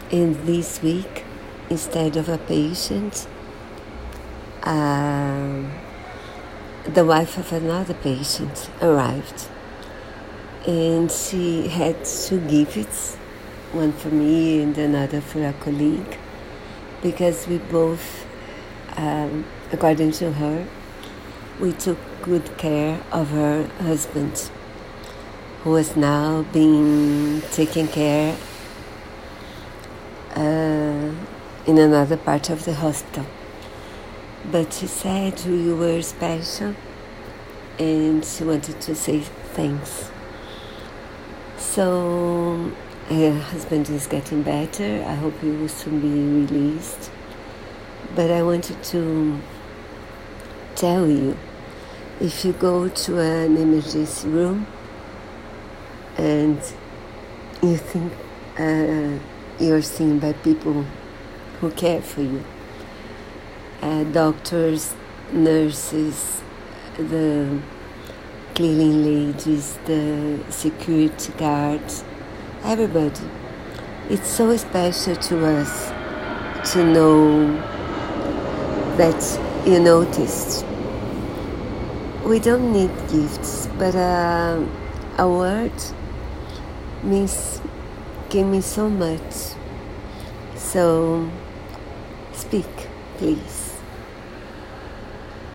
And this week, instead of a patient, the wife of another patient arrived. And she had 2 gifts, one for me and another for a colleague, because we both, according to her, we took good care of her husband, who was now being taken care in another part of the hospital. But she said we were special and she wanted to say thanks. So her husband is getting better. I hope he will soon be released. But I wanted to tell you, if you go to an emergency room and you think you're seen by people who care for you, doctors, nurses, the cleaning ladies, the security guards, everybody. It's so special to us to know that you noticed. We don't need gifts, but a word can mean so much. So speak, please.